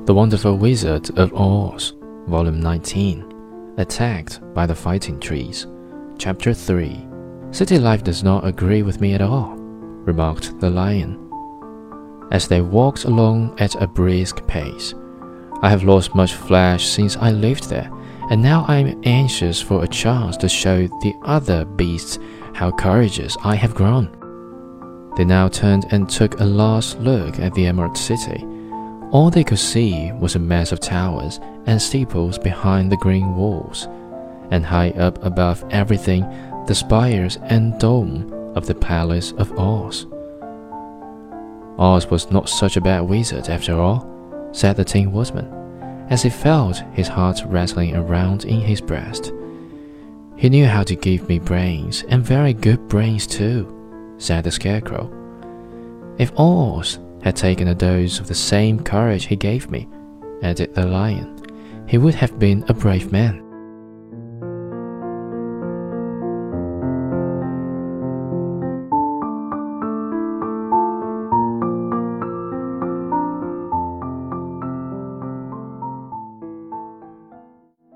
The Wonderful Wizard of Oz, Volume 19, Attacked by the Fighting Trees, Chapter 3. City life does not agree with me at all, remarked the Lion, as they walked along at a brisk pace. I have lost much flesh since I lived there, and now I am anxious for a chance to show the other beasts how courageous I have grown. They now turned and took a last look at the Emerald City. All they could see was a mass of towers and steeples behind the green walls, and high up above everything the spires and dome of the Palace of Oz. Oz was not such a bad wizard after all, said the Tin Woodman, as he felt his heart rattling around in his breast. He knew how to give me brains, and very good brains too, said the Scarecrow. If Oz had taken a dose of the same courage he gave me, added the Lion, he would have been a brave man.